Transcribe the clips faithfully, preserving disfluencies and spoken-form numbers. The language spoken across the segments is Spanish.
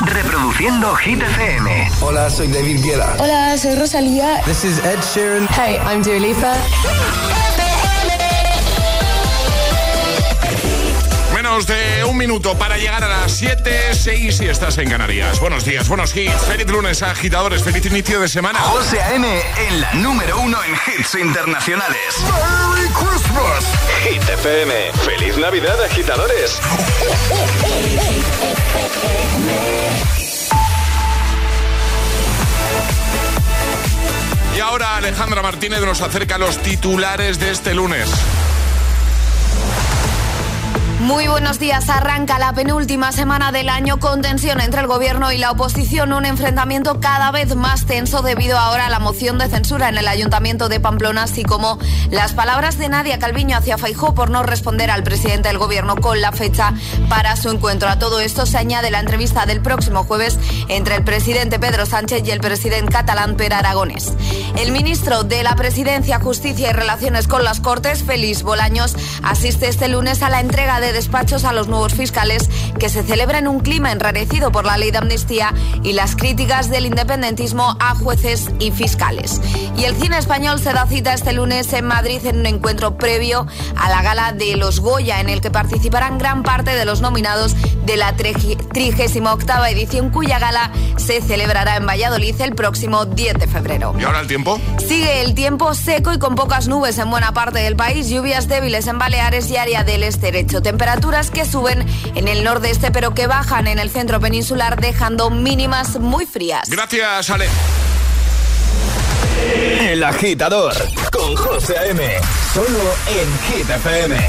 Reproduciendo Hit F M. Hola, soy David Guetta. Hola, soy Rosalía. This is Ed Sheeran. Hey, I'm Dua Lipa. Menos de un minuto para llegar a las siete, seis y estás en Canarias. Buenos días, buenos hits. Feliz lunes, agitadores. Feliz inicio de semana. José A M en la número uno en hits internacionales. ¡Merry Christmas! Hit F M. ¡Feliz Navidad, agitadores! Y ahora Alejandra Martínez nos acerca a los titulares de este lunes. Muy buenos días. Arranca la penúltima semana del año con tensión entre el gobierno y la oposición, un enfrentamiento cada vez más tenso debido ahora a la moción de censura en el Ayuntamiento de Pamplona, así como las palabras de Nadia Calviño hacia Feijóo por no responder al presidente del gobierno con la fecha para su encuentro. A todo esto se añade la entrevista del próximo jueves entre el presidente Pedro Sánchez y el presidente catalán Pere Aragonés. El ministro de la Presidencia, Justicia y Relaciones con las Cortes, Félix Bolaños, asiste este lunes a la entrega de despachos a los nuevos fiscales que se celebra en un clima enrarecido por la ley de amnistía y las críticas del independentismo a jueces y fiscales. Y el cine español se da cita este lunes en Madrid en un encuentro previo a la gala de los Goya, en el que participarán gran parte de los nominados de la trigésima octava edición, cuya gala se celebrará en Valladolid el próximo diez de febrero. ¿Y ahora el tiempo? Sigue el tiempo seco y con pocas nubes en buena parte del país, lluvias débiles en Baleares y área del estrecho. Temperaturas que suben en el nordeste pero que bajan en el centro peninsular, dejando mínimas muy frías. Gracias, Ale. El Agitador con José A M. Solo en Hit F M.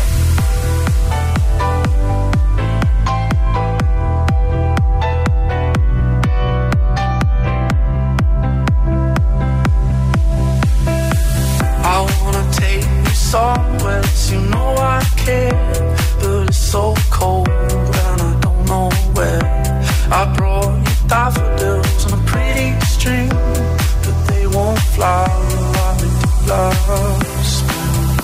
Somewhere you know I care, but it's so cold and I don't know where. I brought you daffodils on a pretty string, but they won't fly like they do last spring.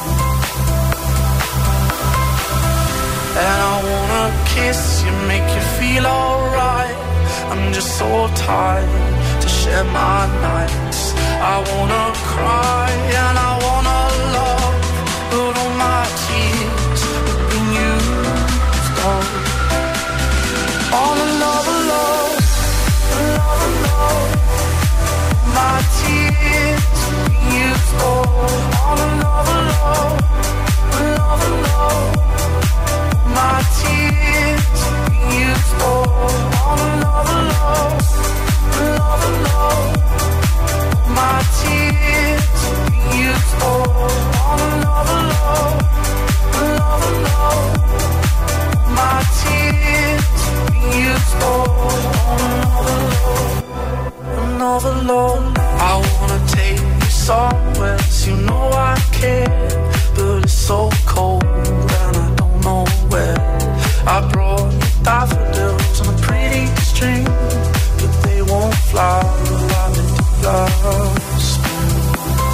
And I wanna kiss you, make you feel alright. I'm just so tired to share my nights. I wanna cry and I wanna love, but all my tears have been used all. All another love, another love. My tears have been used all. All another love, another love. My tears have been used all. All another love, another love. My tears have been used all. On another love, another love. My tears have been used all. On another love, another love. I wanna take you somewhere, you know I care, but it's so cold and I don't know where. I brought you daffodils on a pretty string, but they won't fly like they do last spring.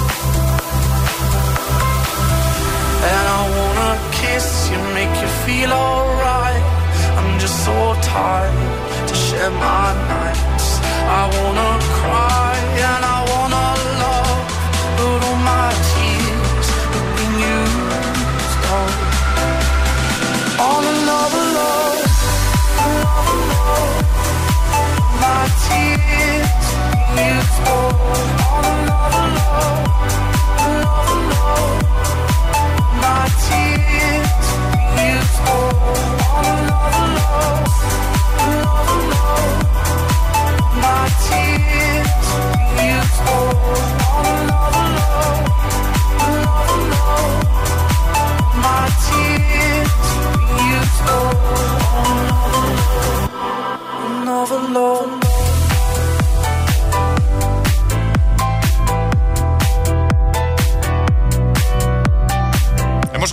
And I wanna kiss you, make you feel alright. I'm just so tired to share my nights. I wanna cry and I wanna love, but all my tears have been used all. On another love, another love. My tears have been used all. On another love, another love. My tears have been used all. On another love, another love. My tears have been used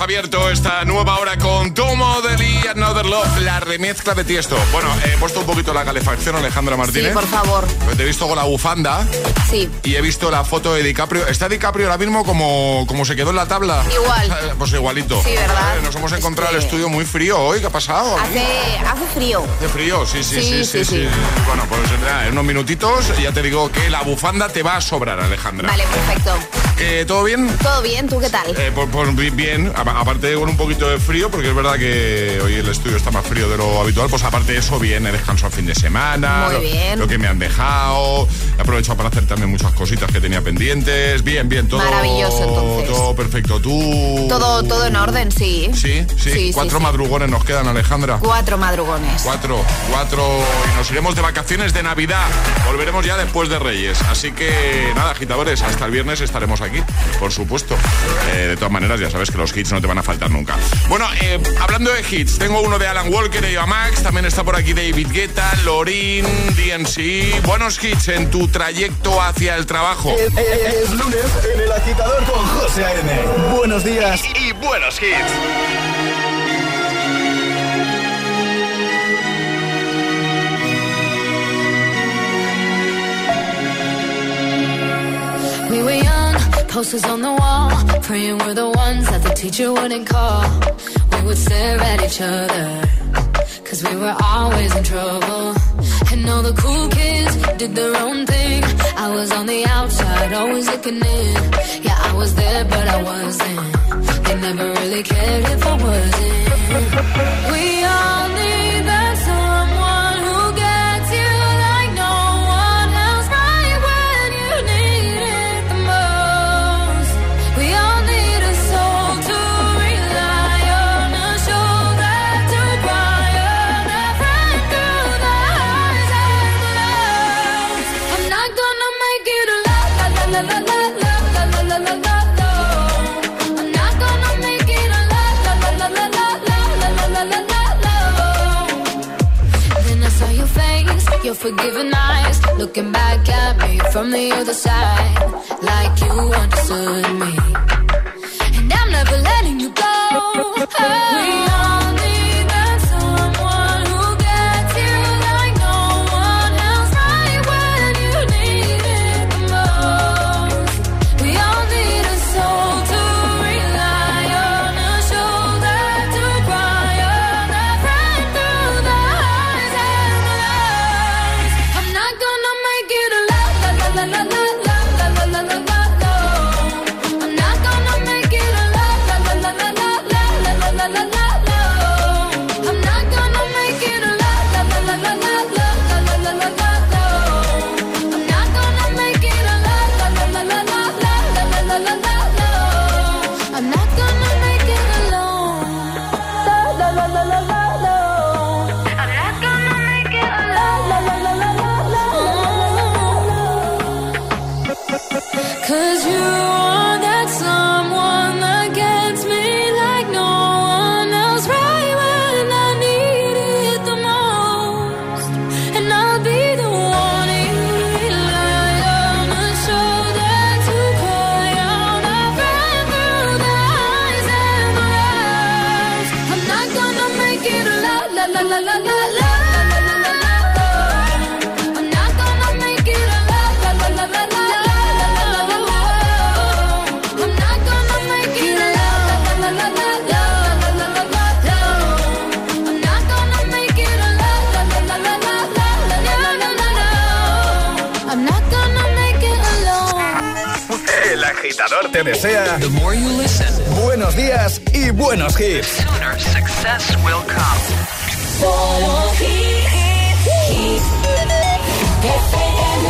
abierto esta nueva hora con Tomo de Lee, Another Love, la remezcla de Tiesto. Bueno, he puesto un poquito la calefacción, Alejandra Martínez. Sí, por favor. Pues te he visto con la bufanda. Sí. Y he visto la foto de DiCaprio. ¿Está DiCaprio ahora mismo como, como se quedó en la tabla? Igual. Pues igualito. Sí, ¿verdad? Eh, nos hemos encontrado es que... el estudio muy frío hoy. ¿Qué ha pasado? Hace, hace frío. Hace frío, sí, sí, sí, Sí, sí. sí, sí, sí. Bueno, pues nada, en unos minutitos ya te digo que la bufanda te va a sobrar, Alejandra. Vale, perfecto. ¿Que todo bien? Todo bien, ¿tú qué tal? Eh, pues, pues bien, a- aparte con un poquito de frío, porque es verdad que hoy el estudio está más frío de lo habitual, pues aparte de eso, bien, he descansado el fin de semana. Muy lo, bien. Lo que me han dejado, he aprovechado para hacer también muchas cositas que tenía pendientes. Bien, bien, todo. Maravilloso, entonces. Todo perfecto. ¿Tú? Todo, todo en orden, sí. Sí, sí. Sí, Cuatro sí, sí. madrugones nos quedan, Alejandra. Cuatro madrugones. Cuatro, cuatro, y nos iremos de vacaciones de Navidad. Volveremos ya después de Reyes. Así que nada, agitadores, hasta el viernes estaremos aquí, por supuesto. Eh, de todas maneras, ya sabes que los hits no te van a faltar nunca. Bueno, eh, hablando de hits, tengo uno de Alan Walker y Eva Max. También está por aquí David Guetta, Lorin, D N C. Buenos hits en tu trayecto hacia el trabajo. Es, es- es lunes en El Agitador con José A.M. Buenos días. Y, y buenos hits. We were young, posters on the wall, praying we're the ones that the teacher wouldn't call. We would stare at each other, cause we were always in trouble. And all the cool kids did their own thing. I was on the outside, always looking in. Yeah, I was there, but I wasn't. They never really cared if I wasn't. We all need that someone who gets you like no one else, right when you need it the most. We all need a soul to rely on, a shoulder to cry on, a friend through the highs and the lows. I'm not gonna make it a la la la la la la la la la la la la. I'm not gonna make it a la la la la la la la la la la la la. Then I saw your face, your forgiving eyes, looking back at me from the other side, like you understood me. And I'm never letting you go. We all need that someone who gets you like no one else, right when you need it the most. We all need a soul to rely on, a shoulder to cry on, a friend through the highs and the lows. I'm not gonna make it a la la la la la la la la la la la la. I'm not gonna make it a la la la la la la la la la la la la. I'm not gonna make it a la la la la la la la la la la la la. I'm not gonna make it a la la la la la la la la la la la. I'm not gonna make it alone. La la la la la la la. I'm not gonna make it a la la la la la la la. Cause you are that someone that gets me like no one else, right when I need it the most. And I'll be the one you rely on, a shoulder to cry on, a friend through the highs and the lows. I'm not gonna make it a la la la la la la la. I'm not gonna make it a la la la la la la. I'm not gonna make it a la la la la la la la la la la. I'm not gonna make it a la la la la la la la la la la. I'm not gonna make it alone. El Agitador te desea buenos días y buenos hits. Sooner success will come. Solo hits, hits, F M.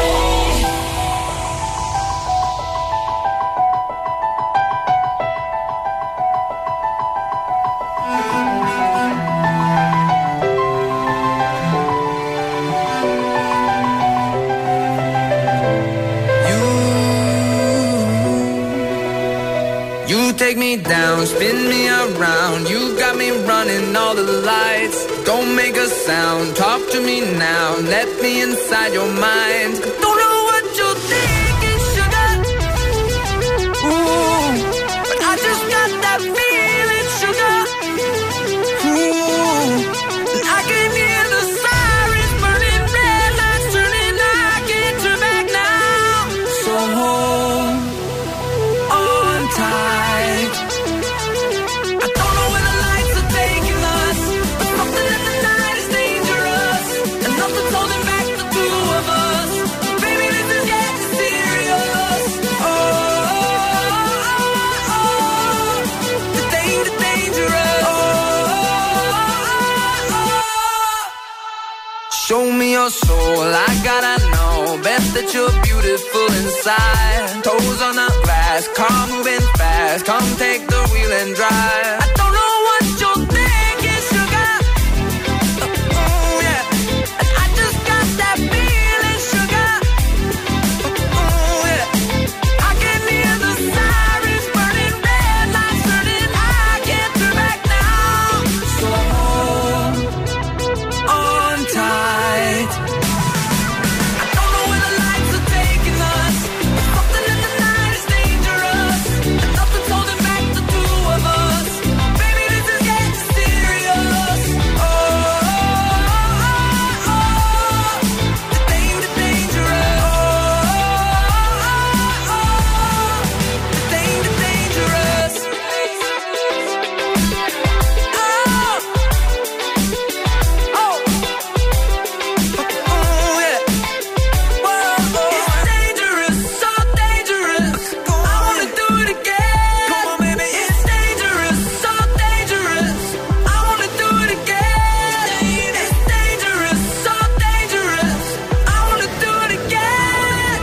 You take me down, spin me around. You got me running all the lights. Don't make a sound, talk to me now. Let me inside your mind. Don't know what you're thinking, sugar. Ooh, but I just got that feeling, Show me your soul, I gotta know. Bet that you're beautiful inside. Toes on the glass, car moving fast. Come take the wheel and drive. I don't know what you're thinking, sugar. Oh, yeah. And I just got that feeling, sugar. Oh, yeah. I can hear the sirens burning, red lights turning. I can't turn back now. So hold on tight. I don't know where the lights are taking us. Something in the night is dangerous, and nothing's holding back the two of us. Baby, this is getting serious. Oh, oh, oh, oh. The danger, dangerous. Oh, oh, oh. The danger, dangerous. Oh, oh. Oh, yeah. Whoa, it's dangerous, so dangerous. I wanna do it again. Come on, baby, it's dangerous, so dangerous. I wanna do it again. It's dangerous, so dangerous. I wanna do it again.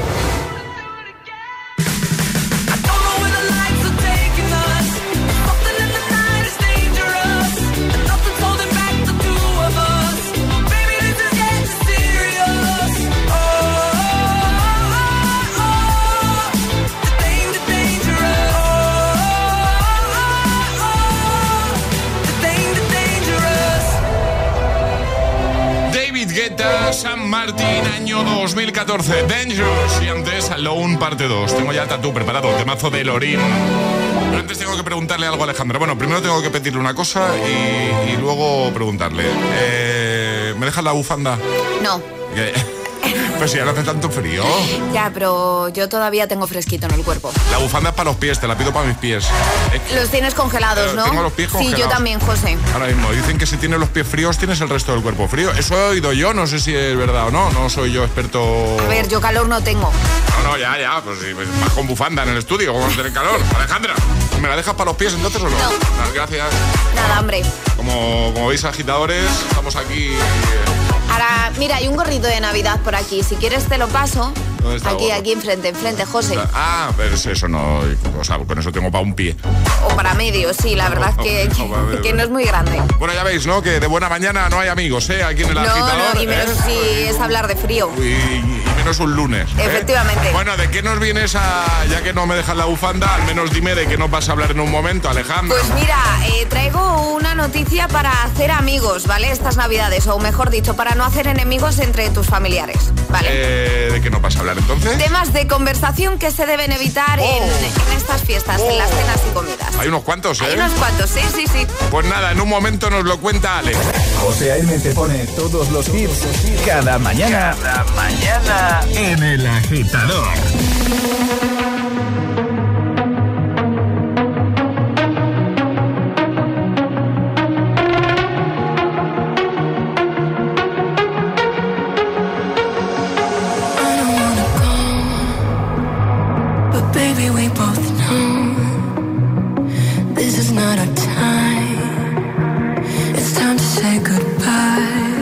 I don't know where the lights are taking us. Something in the night is dangerous, and nothing's holding back the two of us. Baby, this is getting serious. Oh, oh, oh, oh. The danger, dangerous. Oh, oh, oh. The danger, dangerous. David Guetta, San Martín, año dos mil catorce, Dangerous. Y antes, Alone, parte dos. Tengo ya el tatú preparado, temazo de Lorin. Pero antes tengo que preguntarle algo a Alejandra. Bueno, primero tengo que pedirle una cosa y, y luego preguntarle. Eh, ¿Me dejas la bufanda? No. Que- Pues si ya no hace tanto frío. Ya, pero yo todavía tengo fresquito en el cuerpo. La bufanda es para los pies, te la pido para mis pies. Es que- Los tienes congelados, Eh, ¿no? tengo los pies Sí, congelados. yo también, José. Ahora mismo dicen que si tienes los pies fríos tienes el resto del cuerpo frío. Eso he oído yo, no sé si es verdad o no. No soy yo experto. A ver, yo calor no tengo. No, no, ya, ya. Pues sí, pues, vas con bufanda en el estudio, como tener calor. Alejandra, ¿me la dejas para los pies entonces o no? No. Ah, gracias. Nada, hombre. Como, como veis, agitadores, estamos aquí. eh, Ahora, mira, hay un gorrito de Navidad por aquí. Si quieres te lo paso. ¿Dónde está el Aquí, gorro? aquí enfrente, enfrente, José. Ah, pero eso no. O sea, con eso tengo para un pie. O para medio, sí, la verdad es que, No, para medio. que no es muy grande. Bueno, ya veis, ¿no? Que de buena mañana no hay amigos, ¿eh? Aquí en el No, agitador. no, y menos ¿eh? si es hablar de frío. Y, y menos un lunes. ¿eh? Efectivamente. Bueno, ¿de qué nos vienes a...? Ya que no me dejas la bufanda, al menos dime de qué nos vas a hablar en un momento, Alejandra. Pues mira, eh, traigo una noticia para hacer amigos, ¿vale? Estas Navidades, o mejor dicho, para no hacer enemigos entre tus familiares, ¿vale? Eh, ¿De qué nos vas a hablar entonces? Temas de conversación que se deben evitar Oh. en, en estas fiestas, en las cenas y comidas. Hay unos cuantos, ¿eh? Hay unos cuantos, sí, sí, sí. Pues nada, en un momento nos lo cuenta Ale. José A M te pone todos los hits cada mañana. Cada mañana. En El Agitador. But baby, we both know this is not our time. It's time to say goodbye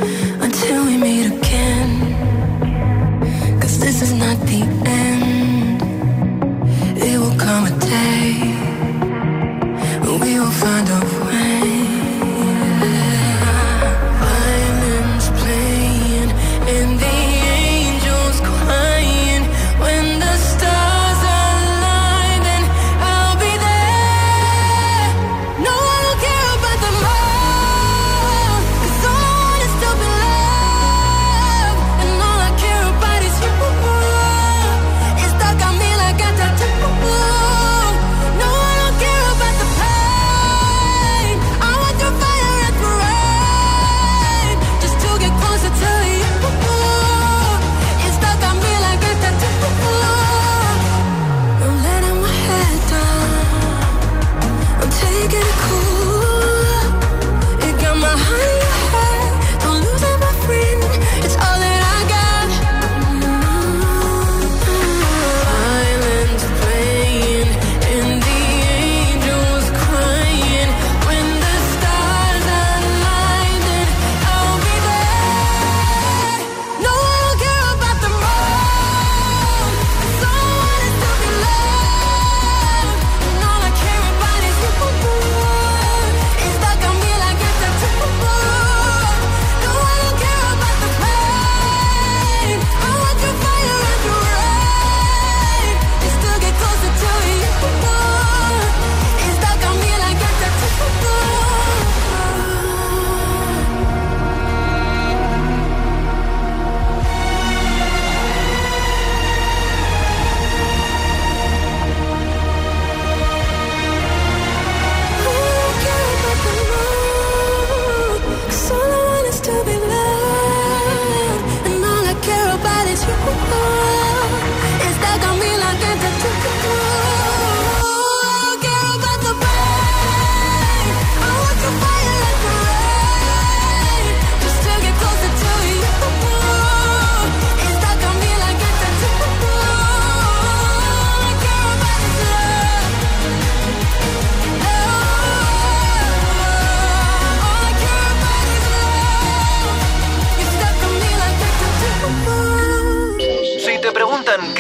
until we meet again. 'Cause this is not the end.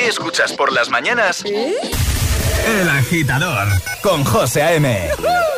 ¿Qué escuchas por las mañanas? El Agitador, con José A M.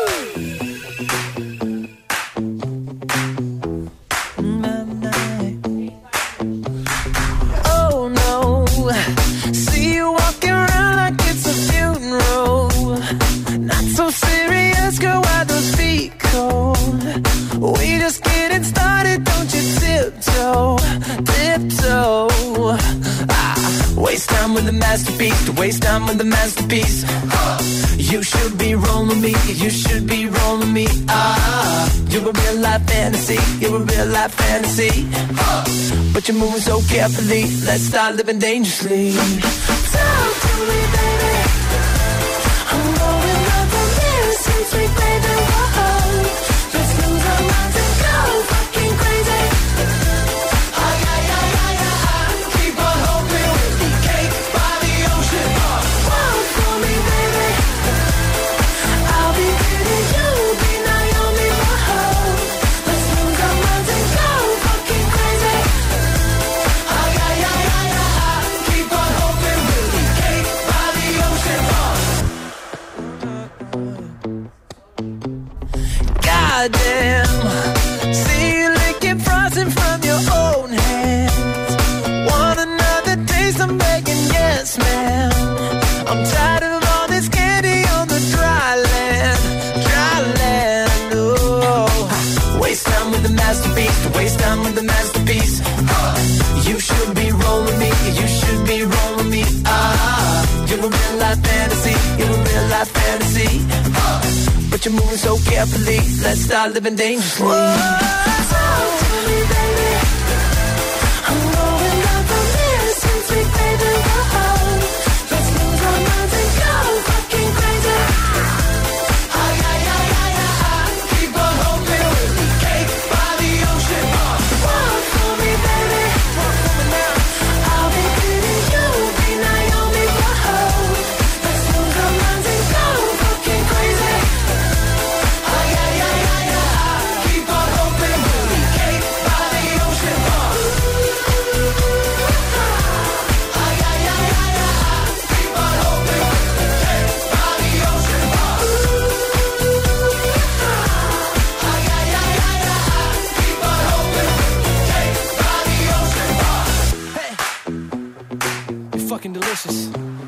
Oh no, see you walking around like it's a funeral. Not so serious, girl, why those feet cold? We just getting started, don't you tiptoe, tiptoe. Ah, waste time with the masterpiece, to waste time with the masterpiece. Uh, you should be rolling me, you should be rolling me. Ah, you're a real life fantasy, you're a real life fantasy. Uh, but you're moving so carefully, let's start living dangerously. Talk to me, baby. I'm going up on this, sweet, sweet baby. Whoa, let's lose our minds and go fucking crazy. Ay, ay, ay, ay, ay. Keep on hoping we'll be cake by the ocean. Walk for me, baby. I'll be pretty, you'll be Naomi. Whoa, let's lose our minds and go fucking crazy. Ay, ay, ay, ay, ay. Keep on hoping we'll be cake by the ocean. Goddamn, see you licking frosting from your own hands. Want another taste? I'm begging, yes, ma'am. I'm tired of all this candy on the dry land, dry land. Oh, waste time with the masterpiece, to waste time with the masterpiece. Uh, you should be rolling me, you should be rolling me. Ah, you're a real life fantasy, you're a real life fantasy. Uh, but you're moving so carefully, let's start living dangerously. Whoa, talk to me, baby. I'm going up on this, sweet, sweet baby. Whoa, let's lose our minds and go fucking crazy. Ay, ay, ay, ay, ay. Keep on hoping we'll be cake by the ocean. Walk for me, baby. Walk for me now. I'll be pretty, you'll be Naomi. Whoa, let's lose our minds and go fucking crazy. Ay, ay, ay, ay, ay. Keep on hoping we'll be cake by the ocean. Ay, ay, ay, ay, ay. Keep on hoping we'll be cake by the ocean. Ay, ay, ay, ay, ay. Keep on hoping we'll be cake by the ocean. Hey, you're fucking delicious.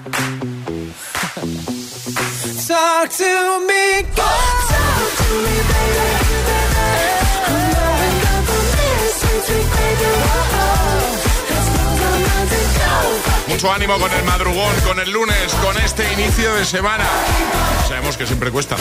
Talk to me, talk to me, baby. I'm going up on this, sweet, sweet baby. Whoa, let's lose our minds and go. Mucho ánimo con el madrugón, con el lunes, con este inicio de semana. Sabemos que siempre cuesta.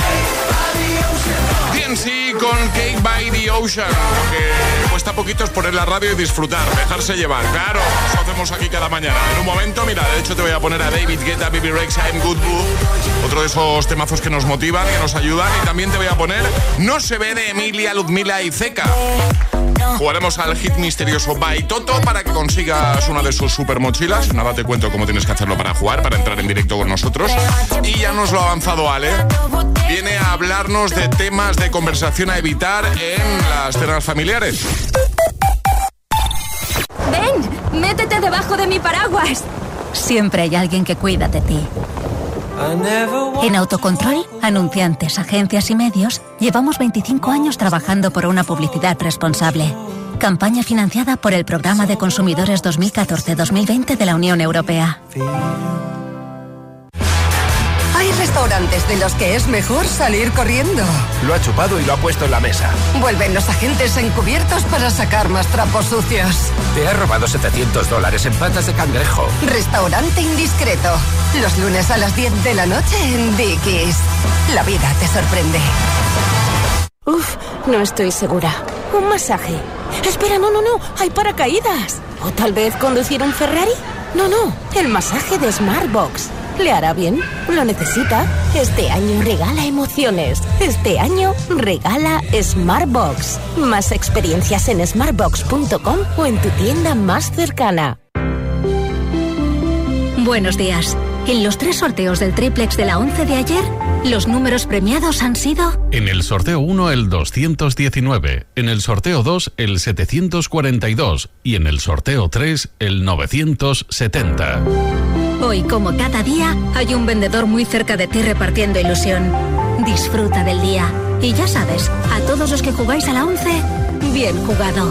D N C con Cake by the Ocean. Lo que cuesta poquito es poner la radio y disfrutar, dejarse llevar. Claro, eso hacemos aquí cada mañana. En un momento, mira, de hecho te voy a poner a David Guetta, B B Rexa, I'm Good Boo. Otro de esos temazos que nos motivan, que nos ayudan. Y también te voy a poner No se ve de Emilia, Ludmila y Zeka. Jugaremos al hit misterioso by Toto para que consigas una de sus super mochilas. Nada, te cuento cómo tienes que hacerlo para jugar, para entrar en directo con nosotros. Y ya nos lo ha avanzado Ale. Viene a hablarnos de temas de conversación a evitar en las cenas familiares. ¡Ven! ¡Métete debajo de mi paraguas! Siempre hay alguien que cuida de ti. En Autocontrol, anunciantes, agencias y medios, llevamos veinticinco años trabajando por una publicidad responsable. Campaña financiada por el Programa de Consumidores dos mil catorce dos mil veinte de la Unión Europea. Hay restaurantes de los que es mejor salir corriendo. Lo ha chupado y lo ha puesto en la mesa. Vuelven los agentes encubiertos para sacar más trapos sucios. Te ha robado setecientos dólares en patas de cangrejo. Restaurante indiscreto. Los lunes a las diez de la noche en Dickies. La vida te sorprende. Uf, no estoy segura. Un masaje. Espera, no, no, no. Hay paracaídas. ¿O tal vez conducir un Ferrari? No, no. El masaje de Smartbox. ¿Le hará bien? ¿Lo necesita? Este año regala emociones. Este año regala Smartbox. Más experiencias en smartbox punto com o en tu tienda más cercana. Buenos días. En los tres sorteos del triplex de la once de ayer, los números premiados han sido... En el sorteo uno, el doscientos diecinueve. En el sorteo dos, el setecientos cuarenta y dos. Y en el sorteo tres, el novecientos setenta. Hoy, como cada día, hay un vendedor muy cerca de ti repartiendo ilusión. Disfruta del día. Y ya sabes, a todos los que jugáis a la once, bien jugado.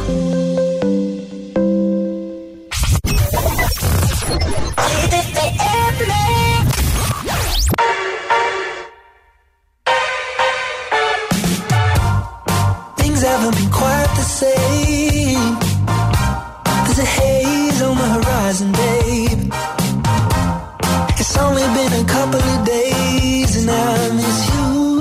Things haven't been quite the same. There's a haze on the horizon, babe. It's only been a couple of days and I miss you.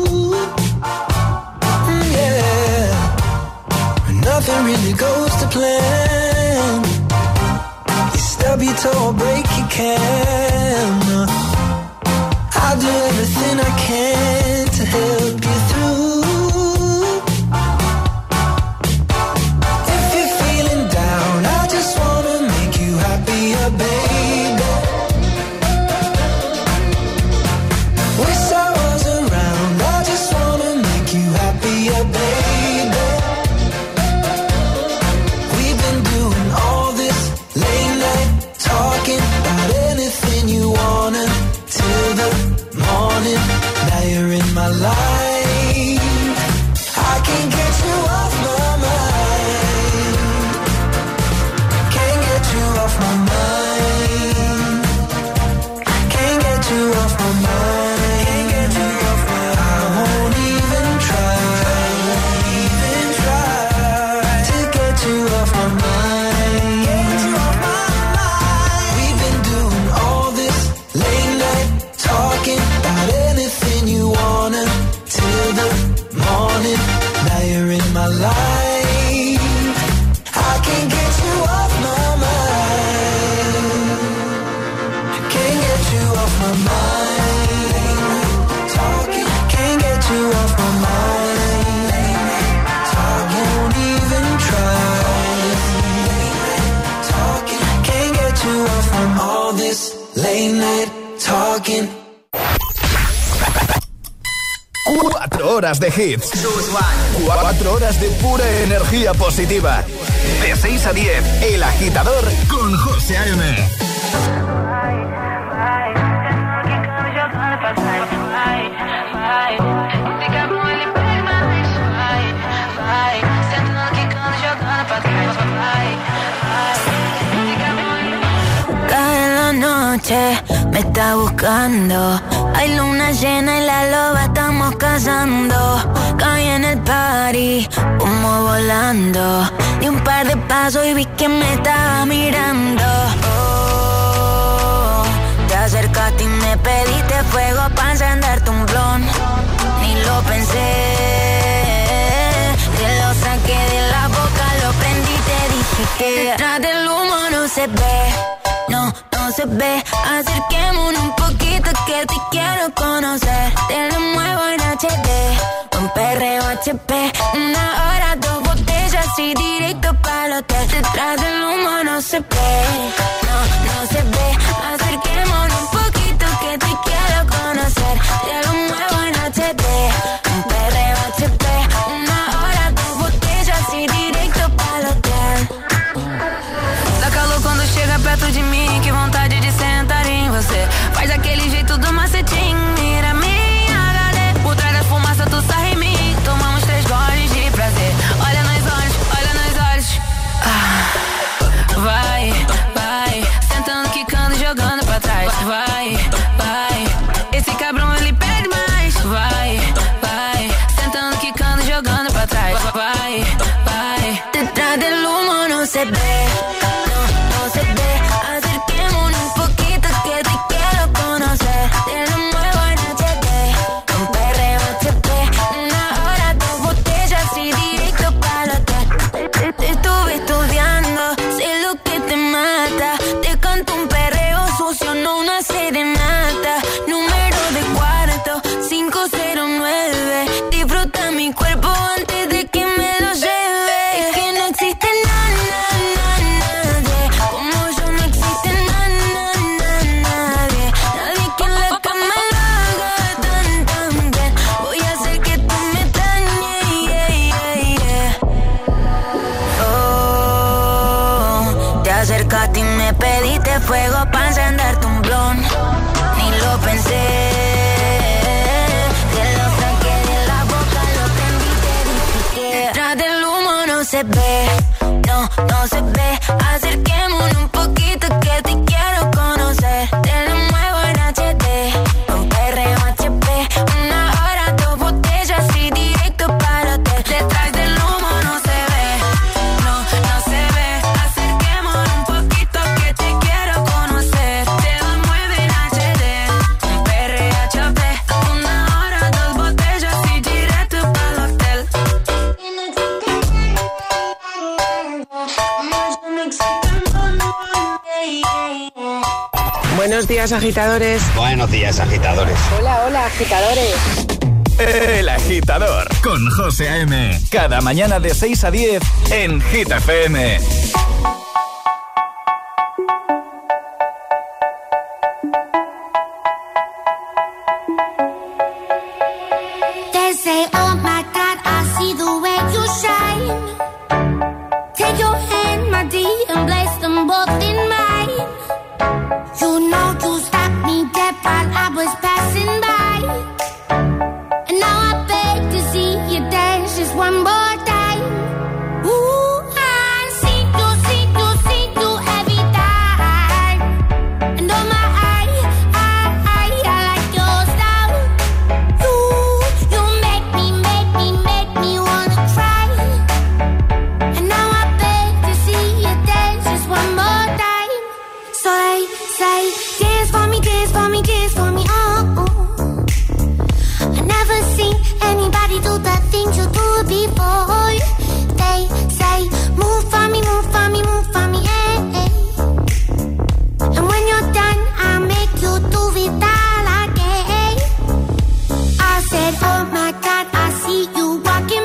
Mm, yeah. Nothing really goes to plan. You stub your toe or break your can. I'll do everything I can to help you through. If you're feeling down, I just wanna make you happier, baby. Wish I was around, I just wanna make you happier, baby. We've been doing all this late night talking about anything you wanna till the morning. Now you're in my life. I can't get you off my mind. Can't get you off my mind. Can't get you off my mind. Can't get you off my mind. I won't even try, even try to get you off my mind. Get you off my mind. We've been doing all this late night talking about anything you wanna till the morning. Now you're in my life. I can't get you off my mind. Can't get you off my mind. Talking, can't get you off my mind. Talking, won't even try. Talking, can't get you off from all this late night talking. Cuatro horas de hits. Cuatro horas de pura energía positiva. De seis a diez, El Agitador con José A M. Cae la noche, me está buscando. Hay luna llena y la loba estamos cazando. Caí en el party, humo volando. Di un par de pasos y vi que me estaba mirando. Oh, te acercaste y me pediste fuego para encenderte un blon. Ni lo pensé, te lo saqué de la boca, lo prendí y te dije que detrás del humo no se ve. No, no se ve. Acerquémonos un poquito que te quiero conocer. Te lo muevo en H D, un perreo H P. Una hora, dos botellas y directo para el hotel. Detrás del humo no se ve. No, no se ve. Acerquémonos un poquito que te quiero conocer. Te lo muevo en H D, un perreo H P. Una hora, dos botellas y directo para el hotel. Dá calor quando chega perto de mim, que vontade de sentar em você. Faz aquele jeito do macetinho, mira minha H D. Por trás da fumaça tu sai em mim, tomamos três goles de prazer. Olha nos olhos, olha nos olhos. Ah, vai, vai, sentando, quicando, jogando pra trás. Vai, vai, esse cabrão ele pede mais. Vai, vai, sentando, quicando, jogando pra trás. Vai, vai, detrás del humo no se ve. acercaste y me pediste fuego para encenderte un blon. Ni lo pensé. Te lo saqué de la boca, lo prendí, te dije que detrás del humo no se ve, no, no se ve. Acerquémonos un poquito que te quiero conocer. Te lo muevo en H D, con perreo H P. Una hora, dos botellas y directo para hotel. Detrás del humo no se ve, no, no se ve. Acerquémonos un poquito que te quiero conocer. Te lo muevo en H D, con perreo H P. Una hora, dos botellas y directo para el hotel. Buenos días, agitadores. Buenos días, agitadores. Hola, hola, agitadores. El Agitador con José A M. Cada mañana de seis a diez en Hit F M. They say, oh my God, I see the way you shine. Take your hand, my dear, and place them both in mine. You know you stopped me dead while I was passing by. And now I beg to see you dance just one more time. Ooh, I see you, see you, see you every time. And oh my, I, I, I, I like your style. You, you make me, make me, make me wanna cry. And now I beg to see you dance just one more time. So they say, dance for me, dance for me, dance for me, oh, oh. I never seen anybody do the things you do before. They say, move for me, move for me, move for me, eh, eh. And when you're done, I'll make you do it all again. I said, oh my God, I see you walking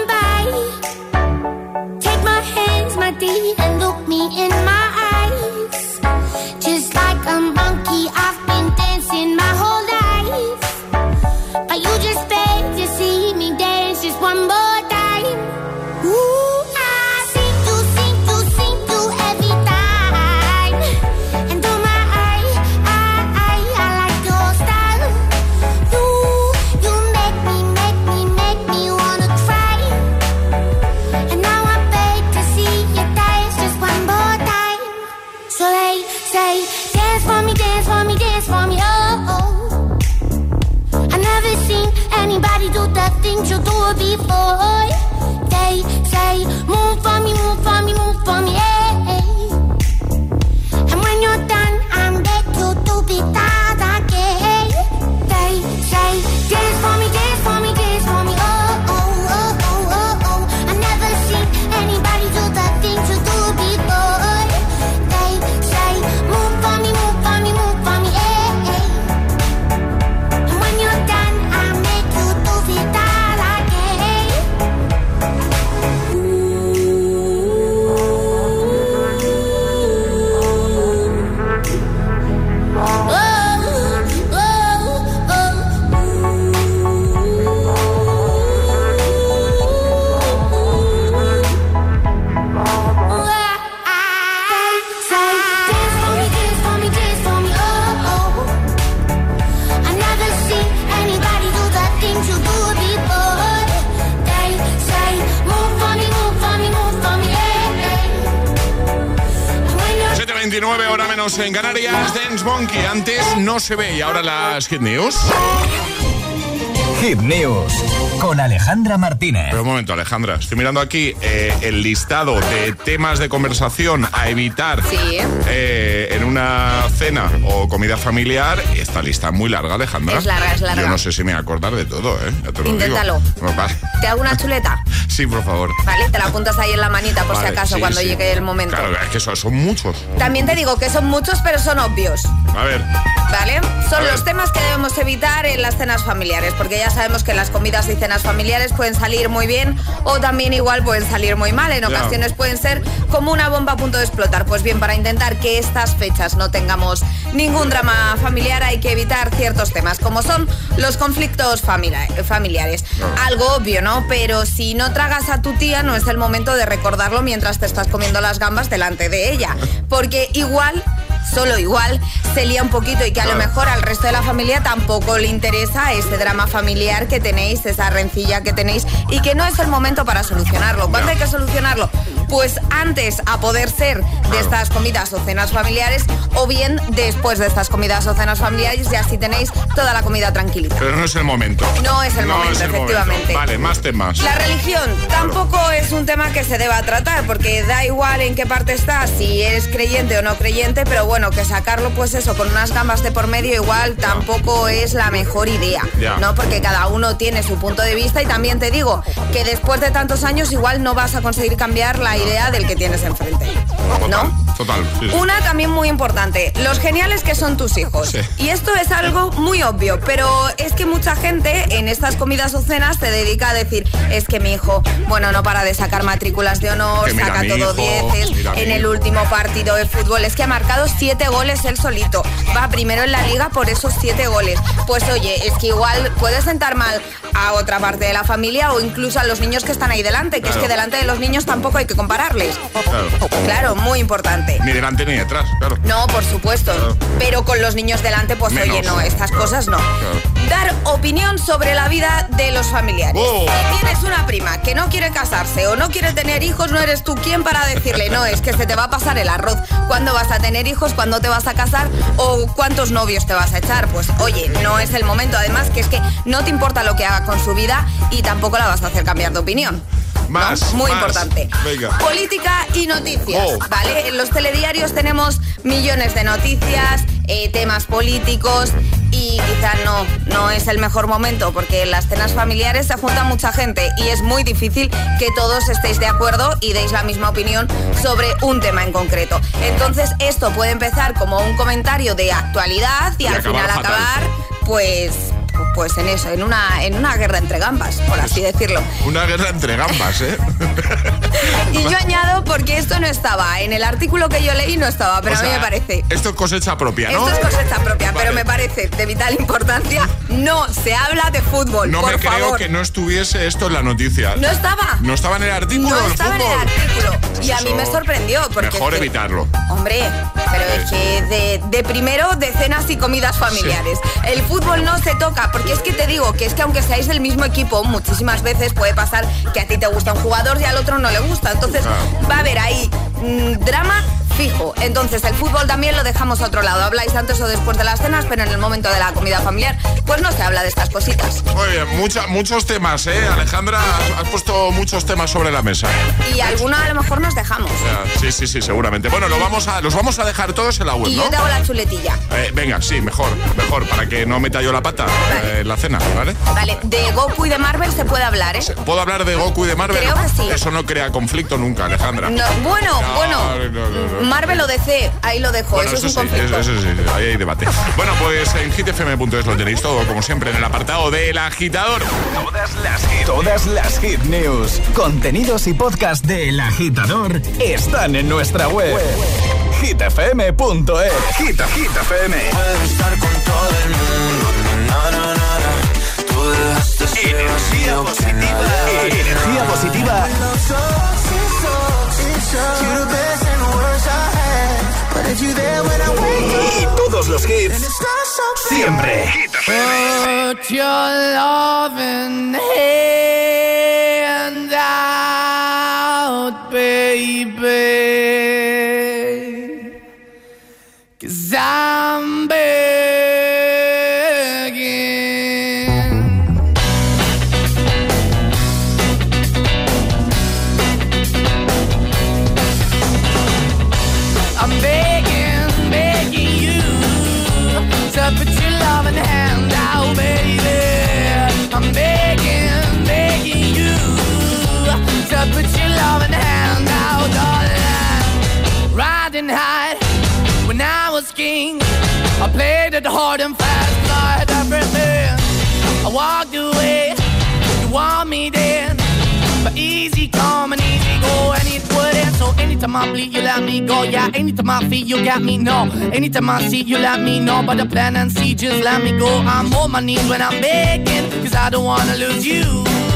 by. Take my hands, my dear, and look me in my eyes. Just like a monkey, I've been dancing my whole life. But you just beg to see me dance just one more time. Ooh, I see you, see you, see you every time. And oh my, I, I, I, I like your style. You, you make me, make me, make me wanna cry. And now I beg to see you dance just one more time. So they say, dance for me, dance for me, dance for me, oh, oh. I never seen anybody do the things you do before. They say, move for me, move for me, move for me, eh, eh. And when you're done, I'm back to do it all again. They say, dance for me, dance for me, dance for me, oh, oh, oh, oh, oh, oh. I never seen anybody do the things you do before. They say, move for me, move for me, move for me, eh, eh. And when you're done, I'll make you do it all again. veintinueve, hora menos en Canarias. Dance Monkey, antes no se ve. Y ahora las Hit News. Hit News con Alejandra Martínez. Pero un momento, Alejandra, estoy mirando aquí eh, el listado de temas de conversación a evitar sí. eh, en una cena o comida familiar. Esta lista es muy larga, Alejandra. Es larga, es larga. Yo no sé si me voy a acordar de todo, ¿eh? Ya te lo Inténtalo. Digo. Vale. ¿Te hago una chuleta? Sí, por favor. Vale, te la apuntas ahí en la manita por vale, si acaso sí, cuando sí. llegue el momento. Claro, es que son, son muchos. También te digo que son muchos, pero son obvios. A ver. ¿Vale? Son a los ver. temas que debemos evitar en las cenas familiares, porque ya ya sabemos que las comidas y cenas familiares pueden salir muy bien o también igual pueden salir muy mal. En ocasiones yeah. pueden ser como una bomba a punto de explotar. Pues bien, para intentar que estas fechas no tengamos ningún drama familiar hay que evitar ciertos temas, como son los conflictos familiares. Algo obvio, ¿no? Pero si no tragas a tu tía, no es el momento de recordarlo mientras te estás comiendo las gambas delante de ella, porque igual, solo igual, se lía un poquito y que a lo mejor al resto de la familia tampoco le interesa ese drama familiar que tenéis, esa rencilla que tenéis y que no es el momento para solucionarlo. ¿Cuándo hay que solucionarlo? Pues antes, a poder ser, de estas comidas o cenas familiares, o bien después de estas comidas o cenas familiares, y así tenéis toda la comida tranquilita. Pero no es el momento. No es el no momento, es el efectivamente. Momento. Vale, más temas. La religión claro. tampoco es un tema que se deba tratar, porque da igual en qué parte estás, si eres creyente o no creyente, pero bueno, que sacarlo pues eso, con unas gambas de por medio igual tampoco es la mejor idea, ya. ¿no? Porque cada uno tiene su punto de vista y también te digo que después de tantos años igual no vas a conseguir cambiar la idea del que tienes enfrente, ¿no? Total, sí, sí. Una también muy importante, los geniales que son tus hijos. Sí. Y esto es algo muy obvio, pero es que mucha gente en estas comidas o cenas se dedica a decir, es que mi hijo, bueno, no para de sacar matrículas de honor, saca todo dieces, en el último partido de fútbol, es que ha marcado siete goles él solito, va primero en la liga por esos siete goles. Pues oye, es que igual puede sentar mal a otra parte de la familia o incluso a los niños que están ahí delante, que claro. es que delante de los niños tampoco hay que compararles. Claro, claro, muy importante. Ni delante ni detrás, claro. No, por supuesto. Claro. Pero con los niños delante, pues Menos. oye, no, estas claro. cosas no. Claro. Dar opinión sobre la vida de los familiares. Oh. Si tienes una prima que no quiere casarse o no quiere tener hijos, no eres tú quien para decirle, no, es que se te va a pasar el arroz. ¿Cuándo vas a tener hijos? ¿Cuándo te vas a casar? ¿O cuántos novios te vas a echar? Pues oye, no es el momento. Además, que es que no te importa lo que haga con su vida y tampoco la vas a hacer cambiar de opinión. Más, ¿no? Muy más. importante. Venga. Política y noticias, oh. ¿vale? En los telediarios tenemos millones de noticias, eh, temas políticos y quizá no, no es el mejor momento porque en las cenas familiares se junta mucha gente y es muy difícil que todos estéis de acuerdo y deis la misma opinión sobre un tema en concreto. Entonces esto puede empezar como un comentario de actualidad y, y al final fatal. acabar pues... Pues en eso, en una, en una guerra entre gambas, por así decirlo. Una guerra entre gambas, ¿eh? Y yo añado, porque esto no estaba, en el artículo que yo leí no estaba, pero o sea, a mí me parece... Esto es cosecha propia, ¿no? Esto es cosecha propia, vale. Pero me parece de vital importancia, no se habla de fútbol, No por me creo favor. que no estuviese esto en la noticia. No estaba. No estaba en el artículo No estaba fútbol. en el artículo. Y a mí me sorprendió, porque... Mejor es que, evitarlo. Hombre, pero es que de, de primero de cenas y comidas familiares. Sí. El fútbol no se toca, porque es que te digo que es que aunque seáis del mismo equipo, muchísimas veces puede pasar que a ti te gusta un jugador y al otro no le gusta. Entonces ah. va a haber ahí mmm, drama fijo. Entonces el fútbol también lo dejamos a otro lado. Habláis antes o después de las cenas, pero en el momento de la comida familiar, pues no se habla de estas cositas. Muy bien, mucha, muchos temas, ¿eh? Alejandra, has, has puesto muchos temas sobre la mesa. Y alguna a lo mejor nos dejamos. Ya, sí, sí, sí, seguramente. Bueno, lo vamos a, los vamos a dejar todos en la web, y ¿no? yo te hago la chuletilla. Eh, venga, sí, mejor, mejor, para que no meta yo la pata vale. eh, en la cena, ¿vale? Vale, de Goku y de Marvel se puede hablar, ¿eh? ¿Puedo hablar de Goku y de Marvel? Creo que sí. Eso no crea conflicto nunca, Alejandra. No, bueno, no, bueno, no, no, no. Marvel o D C, ahí lo dejo, bueno, eso, eso es un sí, conflicto. Eso, eso sí, ahí hay debate. Bueno, pues en hit f m punto es lo tenéis todo, como siempre, en el apartado del agitador. Todas las hit, todas las hit news, contenidos y podcast del agitador están en nuestra web. hit f m punto es. Hit, hit F M. Puedes estar con todo el mundo, na, na, na, na. Tú dejaste ser energía positiva. Energía positiva. Y todos los hits siempre. Put your loving hand out, baby, 'cause I'm begging. I'm begging, begging you to put your loving hand out, baby. I'm begging, begging you to put your loving hand out, darling. Riding high when I was king, I played it hard and fast, like everything. I walked away easy come and easy go, and it wouldn't. So anytime I bleed, you let me go. Yeah, anytime I feel, you got me, no. Anytime I see, you let me know. But the plan and see, just let me go. I'm on my knees when I'm begging, cause I don't wanna lose you.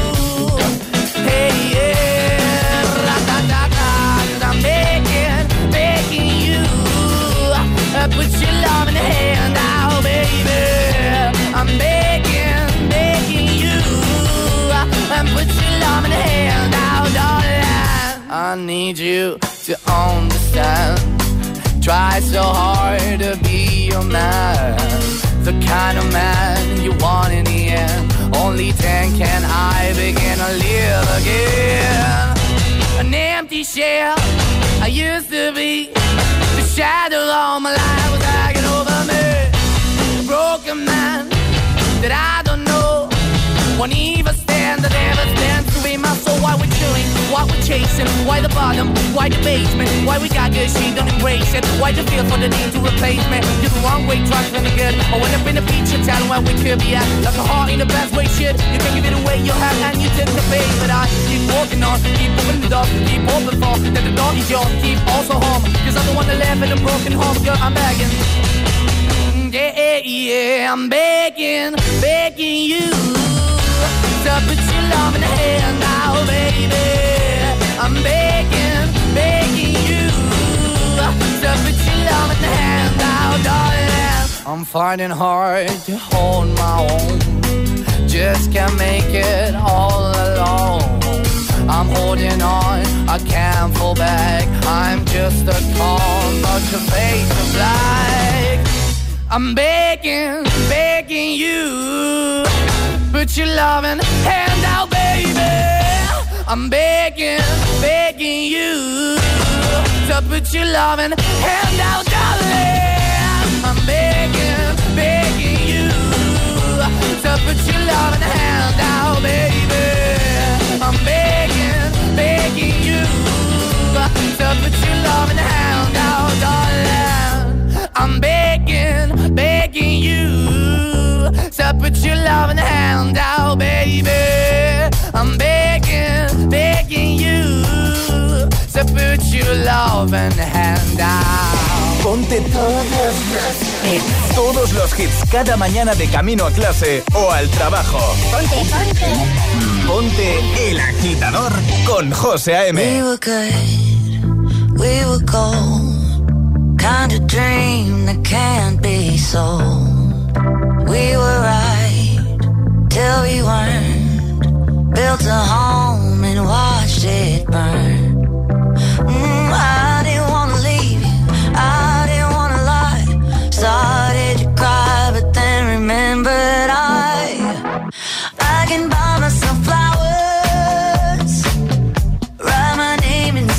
Hey, yeah, ra-da-da-da, cause I'm begging, begging you. Uh, put your love in the hand out, baby. I'm begging, begging you. And put your love in the hand out, darling. I need you to understand. Try so hard to be your man, the kind of man you want in the end. Only then can I begin to live again. An empty shell I used to be. The shadow all my life was hanging over me. A broken man that I don't know won't even stand, that ever stands to be my soul. Why we're chilling, why we're chasing, why the bottom, why the basement, why we got good, she don't embrace it. Why the feel for the need to replace me? You're the wrong way, trying to be good. I went up in the feature town where we could be at. Like a heart in the best way, shit. You can give it away, you have, and you tend to pay. But I keep walking on, keep moving the door, keep open for that the door is yours, keep also home. Cause I'm the one that live in a broken home, girl, I'm begging. Yeah, yeah, I'm begging, begging you. So put your love in the hand now, baby. I'm begging, begging you. So put your love in the hand now, darling. I'm finding hard to hold my own. Just can't make it all alone. I'm holding on, I can't fall back. I'm just a call, but your face is black. I'm begging, begging you. Put your loving hand out, baby. I'm begging, begging you. So put your loving hand out, darling. I'm begging, begging you. So put your loving hand out, baby. I'm begging, begging you. So put your loving hand out, darling. I'm begging, begging you. So put your loving hand out, baby. I'm begging, begging you. So put your loving hand out. Ponte todos los hits, todos los hits cada mañana de camino a clase o al trabajo. Ponte, ponte. Ponte El Agitador con José A M. We were good, we were gold. Kind of dream that can't be sold. We were right till we weren't. Built a home and watched it burn. Mm, I didn't wanna leave you, I didn't wanna lie. Started to cry, but then remembered I I can buy myself flowers, write my name in the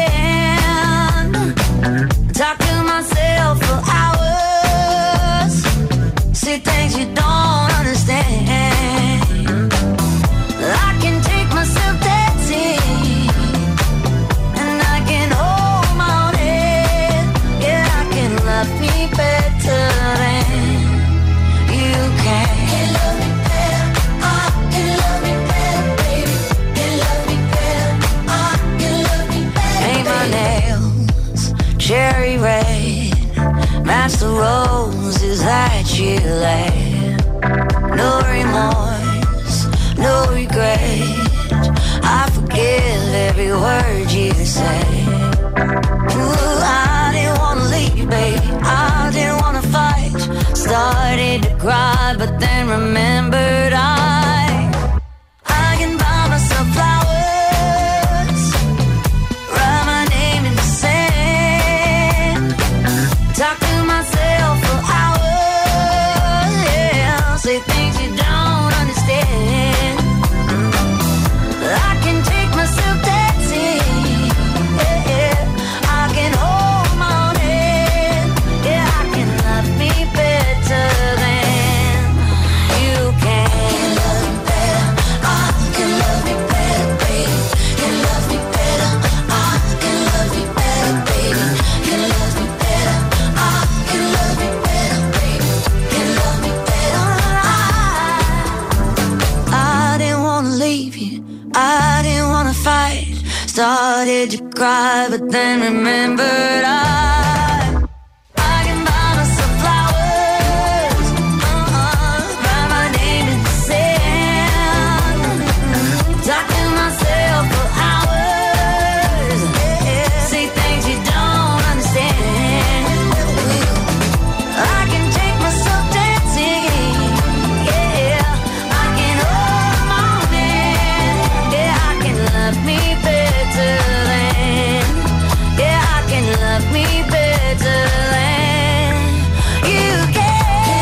sand, talk to myself for hours, see things you don't understand. I can take myself dancing, and I can hold my own head. Yeah, I can love me better than you can. Can love me better, I can love me better, baby. Can love me better, I can love me better. Paint my nails cherry red, match the roses that you laid. No remorse, no regret. I forgive every word you say. Ooh, I didn't wanna leave, babe. I didn't wanna fight. Started to cry, but then remembered I I can buy myself flowers, write my name in the sand, talk to myself for hours, yeah, say things you don't understand. I can take myself dancing, yeah, yeah. I can hold my own head, yeah, I can love me better than you can. cry, but then remembered I, I can buy myself flowers, uh-uh, write my name in the sand, talk to myself for hours, yeah, say things you don't understand. I can take myself dancing, yeah, I can hold my own hand, yeah, I can love me better than, yeah, I can love me better than you can.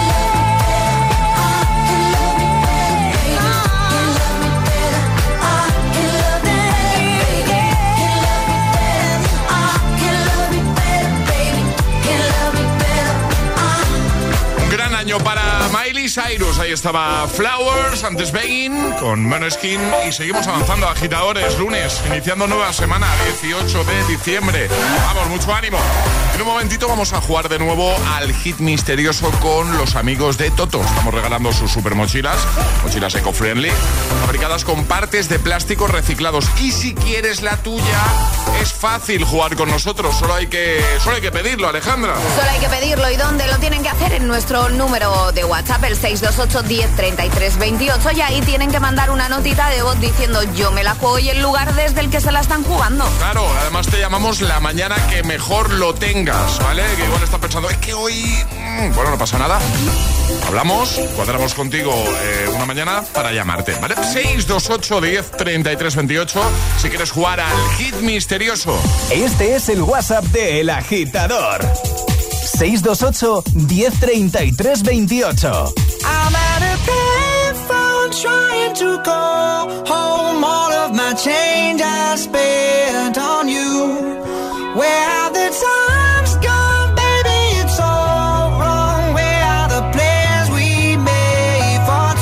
Un gran año para Miley Cyrus. Ahí estaba Flowers, antes Begging, con Måneskin. Y seguimos avanzando, agitadores. Lunes, iniciando nueva semana, dieciocho de diciembre. Vamos, mucho ánimo. En un momentito vamos a jugar de nuevo al hit misterioso con los amigos de Toto. Estamos regalando sus super mochilas, mochilas eco-friendly, fabricadas con partes de plástico reciclados. Y si quieres la tuya, es fácil jugar con nosotros. Solo hay que, solo hay que pedirlo, Alejandra. Solo hay que pedirlo. ¿Y dónde lo tienen que hacer? En nuestro número de WhatsApp, el seis dos ocho, diez, treinta y tres, veintiocho. Y ahí tienen que mandar una notita de voz diciendo yo me la juego y el lugar desde el que se la están jugando. Claro, además te llamamos la mañana que mejor lo tengas, ¿vale? Que igual estás pensando, es que hoy... mmm, bueno, no pasa nada. Hablamos, cuadramos contigo eh, una mañana para llamarte, ¿vale? seis dos ocho, diez, treinta y tres, veintiocho. Si quieres jugar al hit misterioso. Este es el WhatsApp de El Agitador. seis dos ocho, diez, treinta y tres, veintiocho. I'm at a payphone trying to call home. All of my change I spent on you. Where have the times gone, baby? It's all wrong. Where are the plans we made for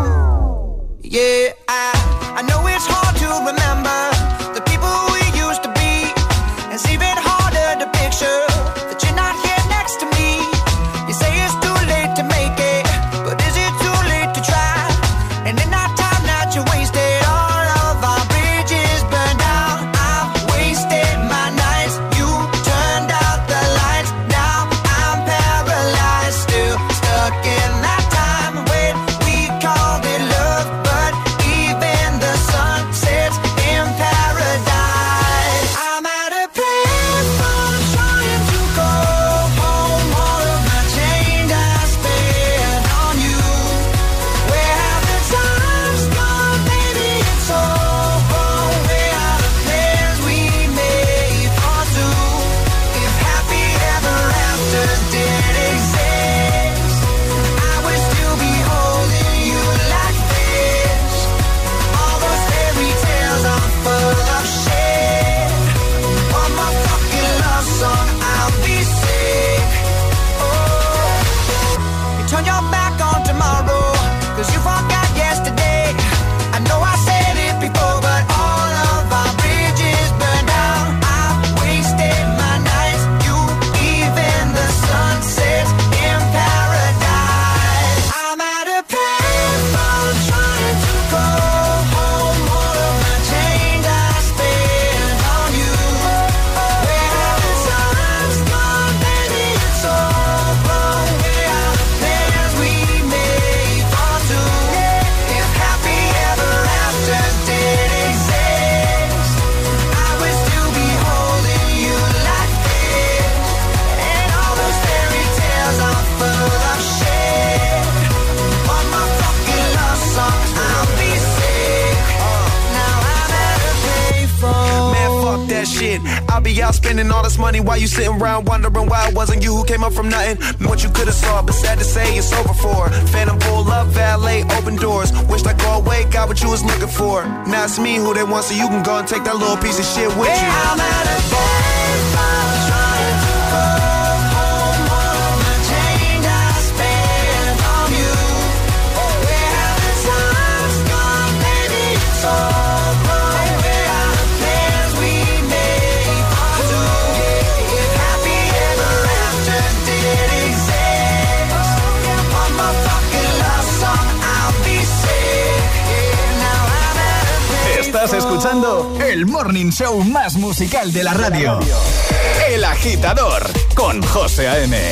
two? Yeah, I, I know it's hard to remember the people we used to be. It's even harder to picture that you're not here next to me. You say it's too late to make it, but is it too late to try? And in that time that you wasted, all of our bridges burned out. I've wasted my nights, you turned out the lights. Now I'm paralyzed, still stuck in that time when we called it love. But even the sun sets in paradise. I'm at a payphone trying to go home. All of my change I spent on you. Where have the times gone, baby? It's all wrong. Where are the plans we made for two? If happy ever afters did exist, I would still be holding you like this. All those fairy tales are full of shit. One more fucking love song, I'll be sick. Oh, you turn your back on tomorrow, cause you forgot yesterday. I know I said it before, but all of our bridges burned out. I've wasted my nights, you, even the sun sets in paradise. I'm at a payphone trying to go home. All of my change I spent on you. Where have the times gone, baby? It's all wrong. Where are the plans we made for two? If happy ever afters did exist, I would still be holding you like this. And all those fairy tales are full of shit. One more fucking love song, I'll be sick. Now I'm at a payphone. Man, fuck that shit. I'll be out spending all this money while you sitting around wondering why it wasn't you who came up from nothing. What you could've saw, but sad to say it's over for. Phantom pull up, valet, open doors. Wished I go away, got what you was looking for. Now it's me who they want, so you can go and take that little piece of shit with you. Yeah, I'm at a payphone trying to go home. All of my change I spent on you. Where have the times gone, baby? It's all wrong. Where are the plans we made for two? If happy ever afters did exist, one more fucking love song, I'll be sick. Now I'm at a payphone. Estás escuchando escuchando el morning show más musical de la radio. El Agitador, con José A M.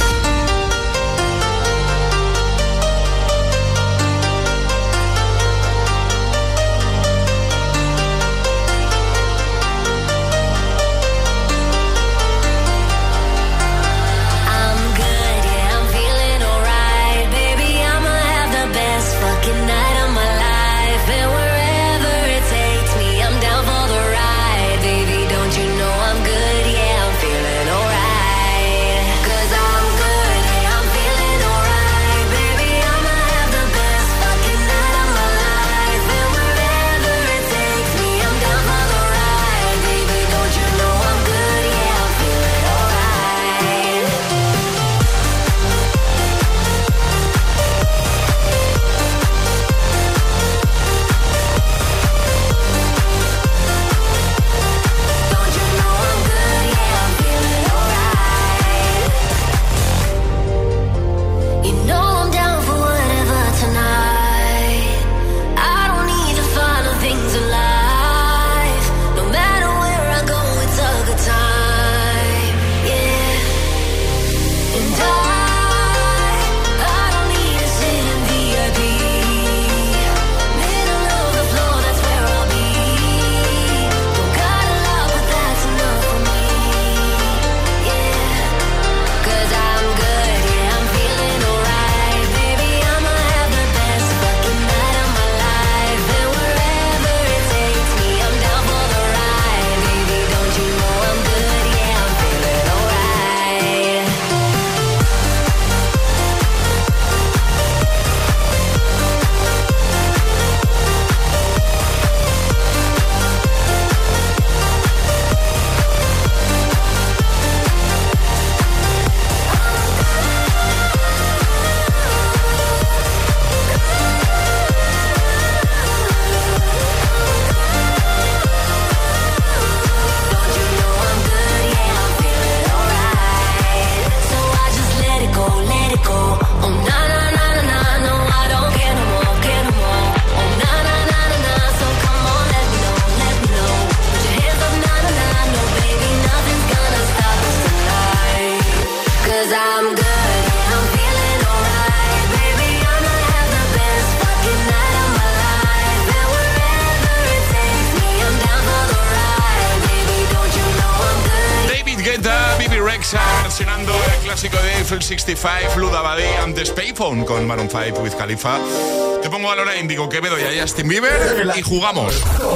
Versionando el clásico de Eiffel sesenta y cinco, Luda Badi, antes Payphone con Maroon cinco with Khalifa. Te pongo a Lola Índigo, Quevedo y a Justin Bieber y jugamos.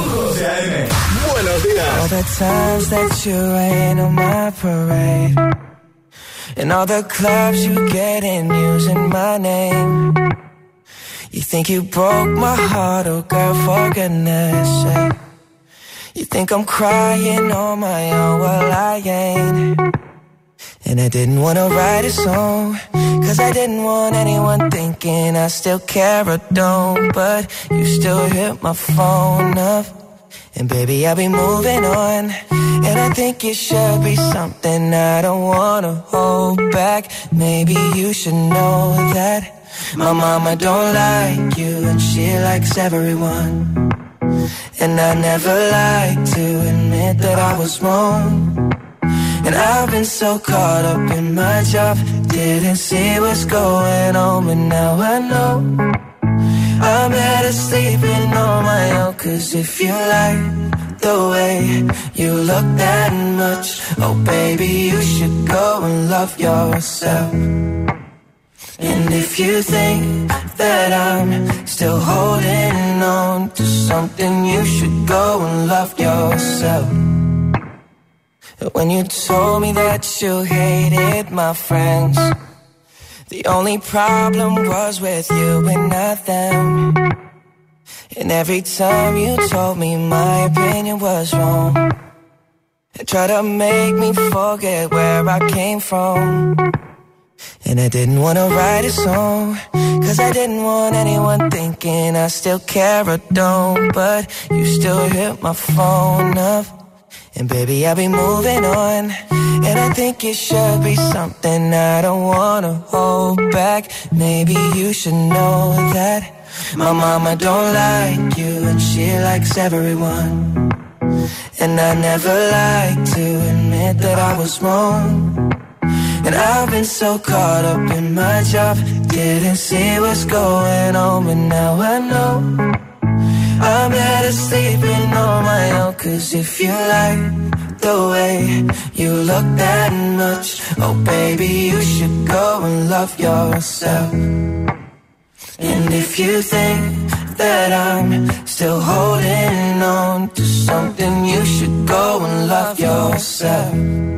Buenos días. All the times that you rain on my parade, and all the clubs you get in using my name. You think you broke my heart, oh girl, for goodness sake. You think I'm crying on my own, well I ain't. And I didn't wanna write a song, cause I didn't want anyone thinking I still care or don't. But you still hit my phone up, and baby I'll be moving on. And I think it should be something I don't wanna hold back. Maybe you should know that my mama don't like you, and she likes everyone. And I never like to admit that I was wrong. And I've been so caught up in my job, didn't see what's going on, but now I know I'm better sleeping on my own. Cause if you like the way you look that much, oh baby, you should go and love yourself. And if you think that I'm still holding on to something, you should go and love yourself. When you told me that you hated my friends, the only problem was with you and not them. And every time you told me my opinion was wrong, and tried to make me forget where I came from. And I didn't wanna write a song, cause I didn't want anyone thinking I still care or don't. But you still hit my phone up, and baby I'll be moving on. And I think it should be something I don't wanna hold back. Maybe you should know that My mama don't like you and she likes everyone. And I never like to admit that I was wrong. And I've been so caught up in my job, didn't see what's going on, but now I know I'm better sleeping on my own. Cause if you like the way you look that much, oh baby, you should go and love yourself. And if you think that I'm still holding on to something, you should go and love yourself.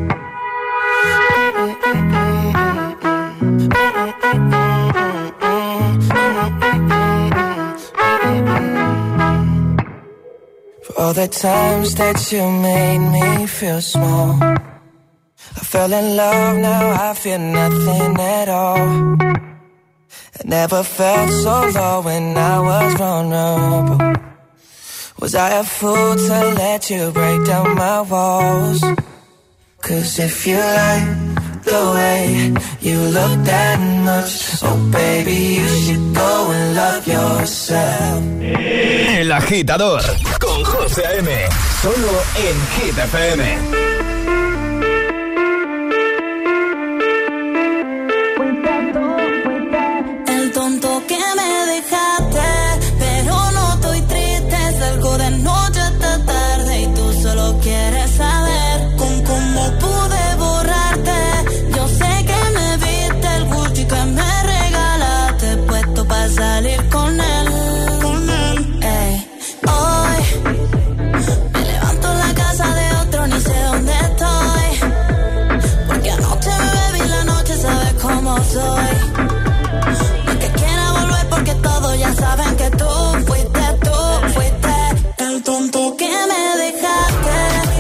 For all the times that you made me feel small, I fell in love, now I feel nothing at all. I never felt so low when I was vulnerable. Was I a fool to let you break down my walls? Cause if you like the way you look that much, oh baby, you should go and love yourself. El Agitador con José A M, solo en Hit F M. Quieres saber con cómo pude borrarte. Yo sé que me viste el Gucci que me regalaste, puesto para salir con él, con él. Ey. Hoy me levanto en la casa de otro, ni sé dónde estoy, porque anoche me bebí la noche, sabes cómo soy. No es que quiera volver porque todos ya saben que tú fuiste, tú fuiste el tonto que me dejaste.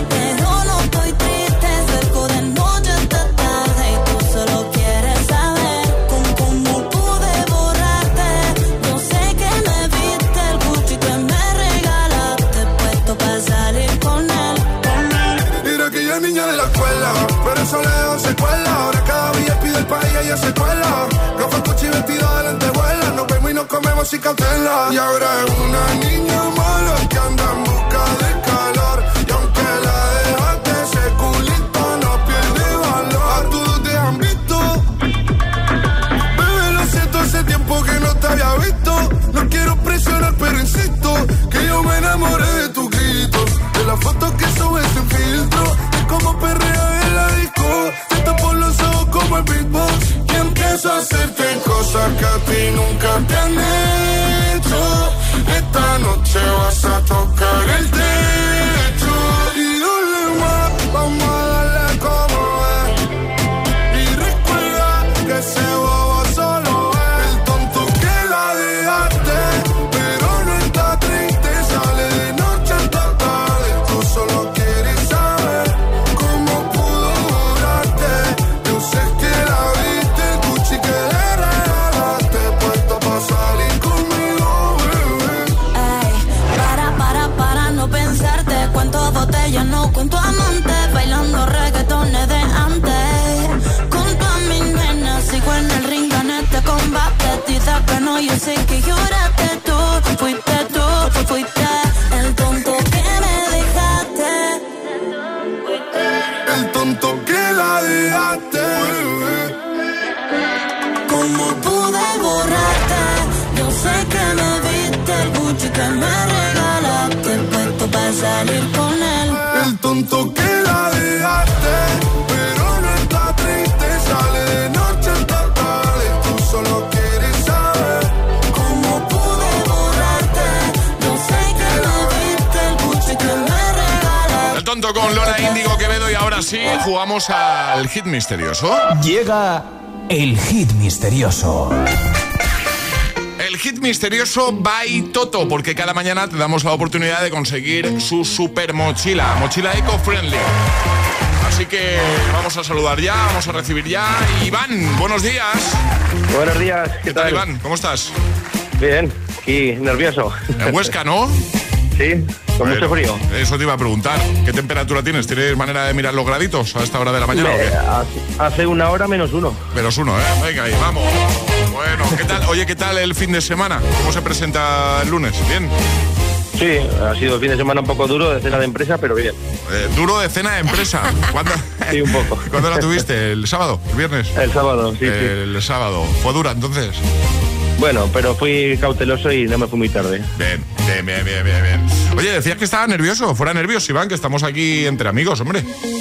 Pero eso lejos se cuela. Ahora cada día pide el país y ella se cuela. No fue coche vestido de lentejuelas. Nos vemos y nos comemos sin cautela. Y ahora es una niña mala que anda en busca de calor. Y aunque la dejaste, ese culito no pierde valor. A todos te han visto. Bebé, lo siento, hace tiempo que no te había visto. No quiero presionar, pero insisto que yo me enamoré de tus gritos, de las fotos que subes sin filtro, como perrea en la disco, te tapo los ojos como el beatbox y empiezo a hacerte cosas que a ti nunca te han hecho. Esta noche vas a tocar el techo y dale más, vamos a darle como es. Y recuerda que ese bobo solo es el tonto que la dejaste, pero no está triste, sale de noche hasta tarde. Tú solo quieres saber cómo pudo borrarte. Yo sé que la viste, Gucci que le regalaste, puesto pa' salir conmigo, bebé. Ey, para, para, para no pensarte. Cuántas botellas, no cuento amantes, bailando reggaetones de antes. Junto a mi nena, sigo en el ring, gané este combate. Dices que no, yo sé que lloraste. Tú fuiste, tú fuiste el tonto que me dejaste. El tonto que la dejaste, bebé. ¿Cómo pude borrarte? Yo sé que me viste el Gucci que me regalaste, puesto para salir con él. El tonto que la dejaste, pero no está triste, sale de noche hasta tarde. Tú solo quieres saber ¿Cómo pude borrarte? Yo sé que me viste el Gucci que me regalaste. El tonto con Lola Índigo Quevedo y ahora sí, jugamos al hit misterioso. Llega el hit misterioso. El hit misterioso by Toto, porque cada mañana te damos la oportunidad de conseguir su super mochila, mochila eco-friendly. Así que vamos a saludar ya, vamos a recibir ya. Iván, buenos días. Buenos días, ¿qué, ¿Qué tal, tal, Iván? ¿Cómo estás? Bien, aquí nervioso. En Huesca, ¿no? Sí, con bueno, mucho frío. Eso te iba a preguntar. ¿Qué temperatura tienes? ¿Tienes manera de mirar los graditos a esta hora de la mañana? Me, ¿o qué? Hace una hora menos uno. Menos uno, ¿eh? Venga, ahí, vamos. Bueno, Bueno, ¿qué tal? Oye, ¿qué tal el fin de semana? ¿Cómo se presenta el lunes? ¿Bien? Sí, ha sido el fin de semana un poco duro de cena de empresa, pero bien. Eh, ¿Duro de cena de empresa? ¿Cuándo? Sí, un poco. ¿Cuándo la tuviste? ¿El sábado? ¿El viernes? El sábado, sí, El sí. sábado. ¿Fue dura entonces? Bueno, pero fui cauteloso y no me fui muy tarde. Bien, bien, bien, bien, bien, bien. Oye, decías que estaba nervioso. Fuera nervioso, Iván, que estamos aquí entre amigos, hombre.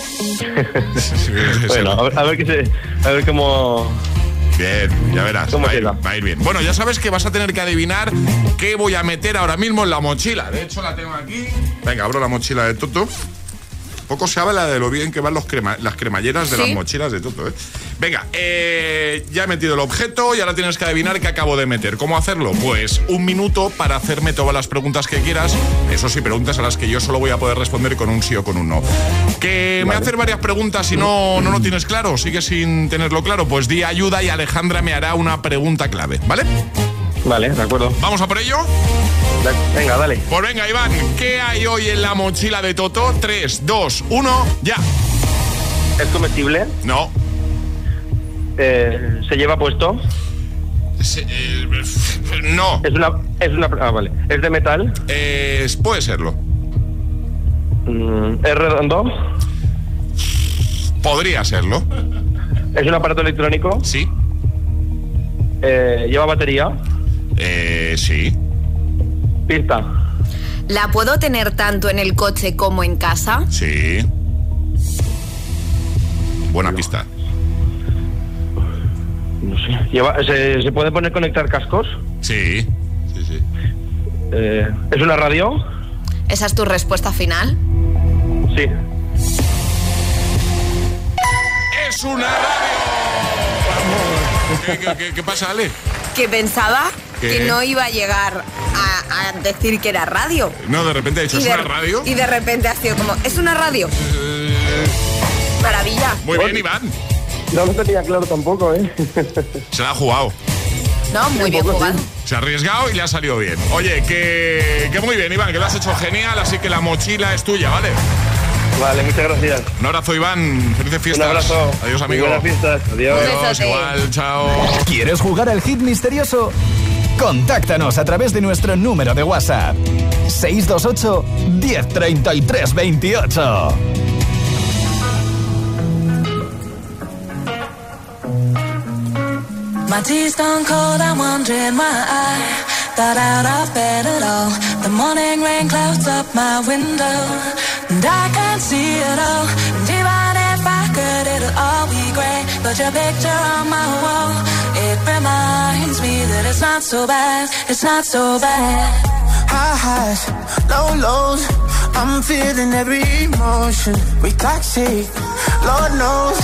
Bueno, a ver, a ver qué se, a ver cómo... Bien, ya verás, ¿Cómo va a, ir, queda? va a ir bien. Bueno, ya sabes que vas a tener que adivinar qué voy a meter ahora mismo en la mochila. De hecho, la tengo aquí. Venga, abro la mochila de Toto. Poco se habla de lo bien que van los crema, las cremalleras de ¿Sí? las mochilas de Toto, ¿eh? Venga, eh, ya he metido el objeto y ahora tienes que adivinar qué acabo de meter. ¿Cómo hacerlo? Pues un minuto para hacerme todas las preguntas que quieras. Eso sí, preguntas a las que yo solo voy a poder responder con un sí o con un no. Que vale. me hacer varias preguntas y no, no lo tienes claro, sigues sin tenerlo claro, pues di ayuda y Alejandra me hará una pregunta clave, ¿vale? Vale, de acuerdo. ¿Vamos a por ello? Venga, dale. Pues venga, Iván, ¿qué hay hoy en la mochila de Toto? tres, dos, uno, ya. ¿Es comestible? No. Eh, ¿Se lleva puesto? Se, eh, no. Es una, es una... Ah, vale. ¿Es de metal? Eh, puede serlo. Mm, ¿Es redondo? Podría serlo. ¿Es un aparato electrónico? Sí. Eh, ¿Lleva batería? Eh, sí. ¿Pista? ¿La puedo tener tanto en el coche como en casa? Sí. Buena no. pista. No sé. ¿Lleva, ¿se, ¿Se puede poner conectar cascos? Sí. Sí, sí. Eh, ¿Es una radio? ¿Esa es tu respuesta final? Sí. ¡Es una radio! ¿Qué, qué, qué, qué pasa, Ale? Que pensaba ¿Qué? que no iba a llegar a, a decir que era radio. No, de repente ha dicho, ¿es de, una radio? Y de repente ha sido como, ¿es una radio? Eh... Maravilla. Muy bien, Iván. No lo tenía claro tampoco, ¿eh? Se la ha jugado. No, muy bien jugado. Se ha arriesgado y le ha salido bien. Oye, que, que muy bien, Iván, que lo has hecho genial, así que la mochila es tuya, ¿vale? Vale, muchas gracias. Un abrazo, Iván. Felices fiestas. Un abrazo. Adiós, amigo. Buenas fiestas. Adiós. Adiós, igual, chao. ¿Quieres jugar al hit misterioso? Contáctanos a través de nuestro número de WhatsApp. seis dos ocho, uno cero tres tres dos ocho. My tea's gone cold, I'm wondering why I got out of bed at all. The morning rain clouds up my window, and I can't see it all. And even if I could, it'll all be grey. But your picture on my wall, it reminds me that it's not so bad, it's not so bad. High highs, low lows, I'm feeling every emotion. We toxic, Lord knows.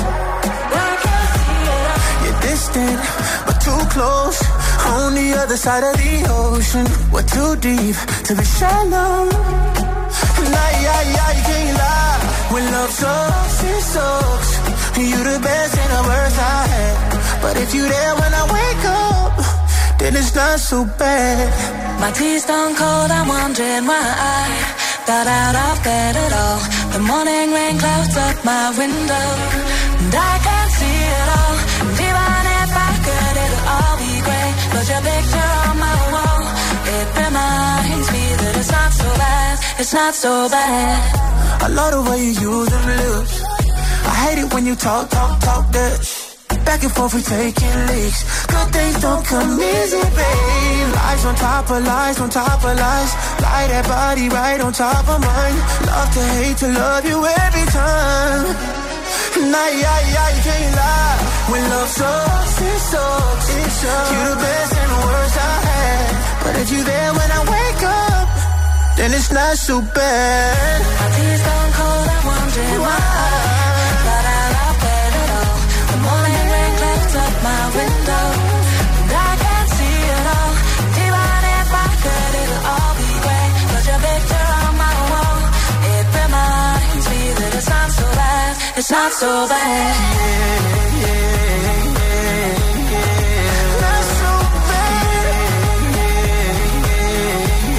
Distant, but too close. On the other side of the ocean, we're too deep to be shallow. And I, I, I can't lie. When love sucks, it sucks. You the best and the worst I had. But if you there when I wake up, then it's not so bad. My tea's gone cold, I'm wondering why I got out of bed at all. The morning rain clouds up my window, and I can't see it all. And even if I could, it'll all be grey. But your picture on my wall, it reminds me that it's not so bad, it's not so bad. I love the way you use them lips. I hate it when you talk, talk, talk that shit. Back and forth we taking leaks. Good things don't come easy, babe. Lies on top of lies, on top of lies. Lie that body right on top of mine. Love to hate to love you every time. And I, I, I can't lie. When love sucks, it sucks, it sucks. You the best and the worst I had. But if you there when I wake up, then it's not so bad. My tea's gone cold, I'm wondering why I got out of bed at all. The morning rain clouds up my window, and I can't see it all. Even if I could, it'll all be grey. But your picture on my wall, it reminds me that it's not so bad, it's not so bad. Yeah, yeah, yeah, yeah. Not so bad. Yeah, yeah,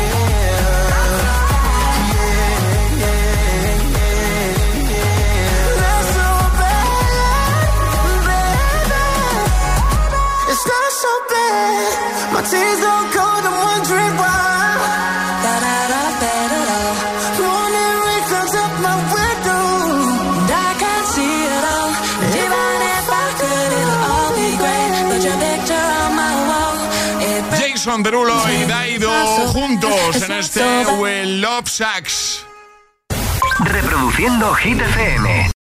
yeah, yeah, yeah. Not so bad, baby. It's not so My tears don't cold, I'm wondering why. Got out of bed at all. Morning rain clouds up my window, and I can't see it all. And even if I could, it'll all be great. Put your picture on my wall. It Jason Derulo y Daido juntos en este We Love Sax. Reproduciendo Hit F M.